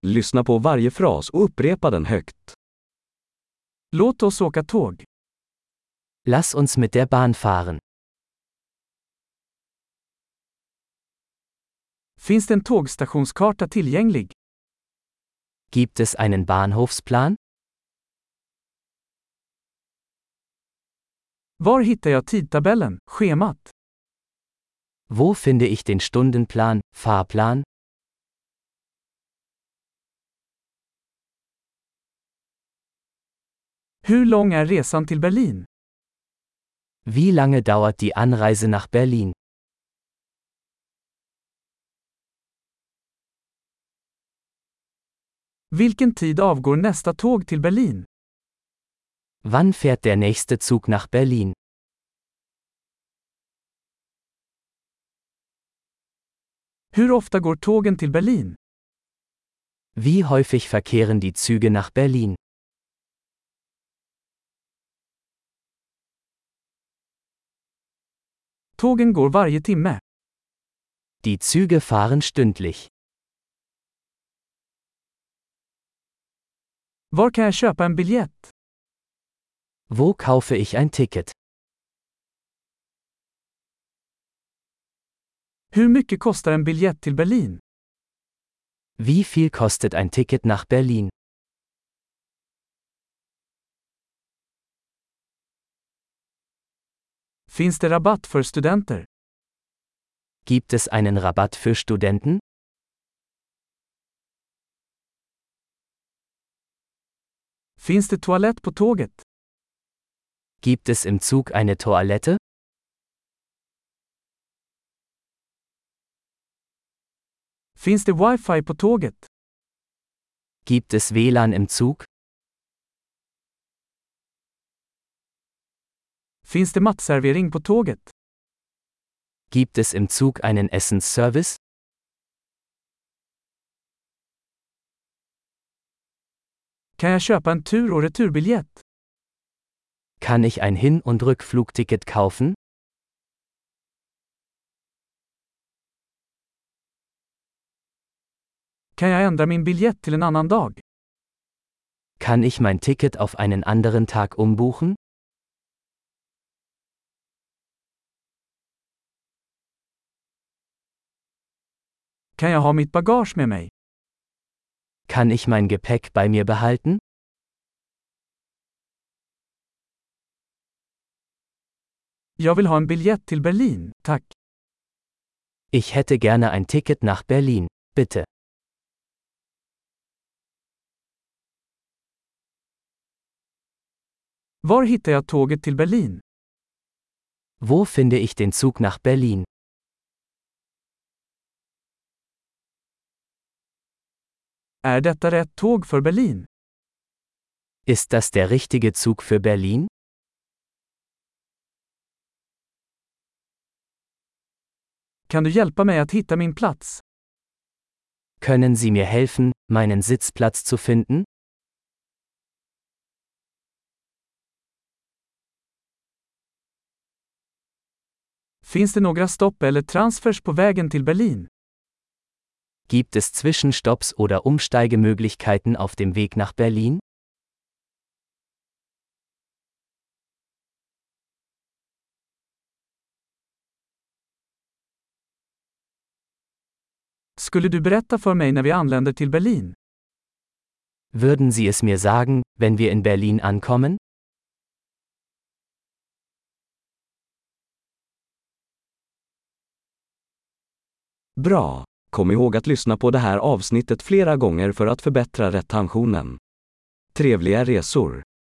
Lyssna på varje fras och upprepa den högt. Låt oss åka tåg. Lass uns mit der Bahn fahren. Finns det en tågstationskarta tillgänglig? Gibt es einen Bahnhofsplan? Var hittar jag tidtabellen, schemat? Wo finde ich den Stundenplan, Fahrplan? Hur lång är resan till Berlin? Wie lange dauert die Anreise nach Berlin? Vilken tid avgår nästa tåg till Berlin? Wann fährt der nächste Zug nach Berlin? Hur ofta går tågen till Berlin? Wie häufig verkehren die Züge nach Berlin? Tågen går varje timme. Die Züge fahren stündlich. Var kan jag köpa en biljett? Wo kaufe ich ein Ticket? Hur mycket kostar en biljett till Berlin? Wie viel kostet ein Ticket nach Berlin? Finns det rabatt för studenter? Gibt es einen Rabatt für Studenten? Finns det toalett på tåget? Gibt es im Zug eine Toilette? Finns det wifi på tåget? Gibt es WLAN im Zug? Finns det matservering på tåget? Gibt es im Zug einen Essensservice? Kan jag köpa en tur- och returbiljett? Kann ich ein Hin- und Rückflugticket kaufen? Kan jag ändra min biljett till en annan dag? Kann ich mein Ticket auf einen anderen Tag umbuchen? Kan jag ha mitt bagage med mig? Kann ich mein Gepäck bei mir behalten? Jag vill ha en biljett till Berlin, tack. Ich hätte gerne ein Ticket nach Berlin, bitte. Var hittar jag tåget till Berlin? Wo finde ich den Zug nach Berlin? Är detta rätt tåg för Berlin? Ist das der richtige Zug für Berlin? Kan du hjälpa mig att hitta min plats? Können Sie mir helfen, meinen Sitzplatz zu finden? Finns det några stopp eller transfers på vägen till Berlin? Gibt es Zwischenstopps oder Umsteigemöglichkeiten auf dem Weg nach Berlin? Skulle du berätta för mig när vi anländer till Berlin? Würden Sie es mir sagen, wenn wir in Berlin ankommen? Bra! Kom ihåg att lyssna på det här avsnittet flera gånger för att förbättra retentionen. Trevliga resor!